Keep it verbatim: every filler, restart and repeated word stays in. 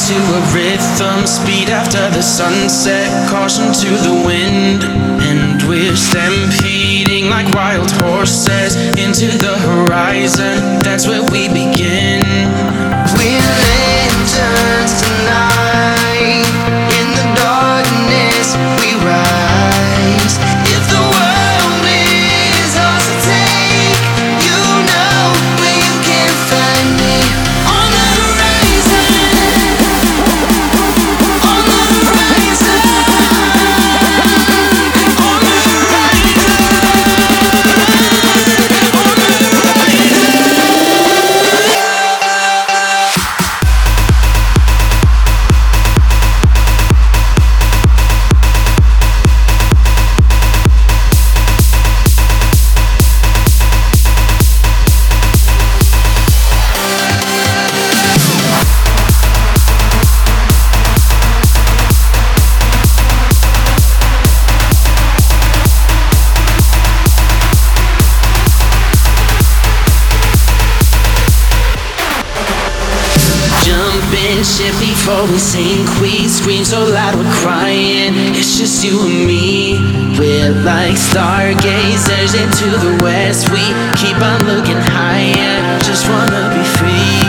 to a rhythm, speed after the sunset, caution to the wind. And we're stampeding like wild horses into the horizon, that's where we begin. We're lanterns tonight, in the darkness we rise. If the world is ours to take, you know where you can find me. On the horizon, on the horizon, on the horizon, on the horizon. Jumping ship before we sink, we scream so loud we're crying. It's just you and me. We're like stargazers into the west. We keep on looking higher, just wanna be free.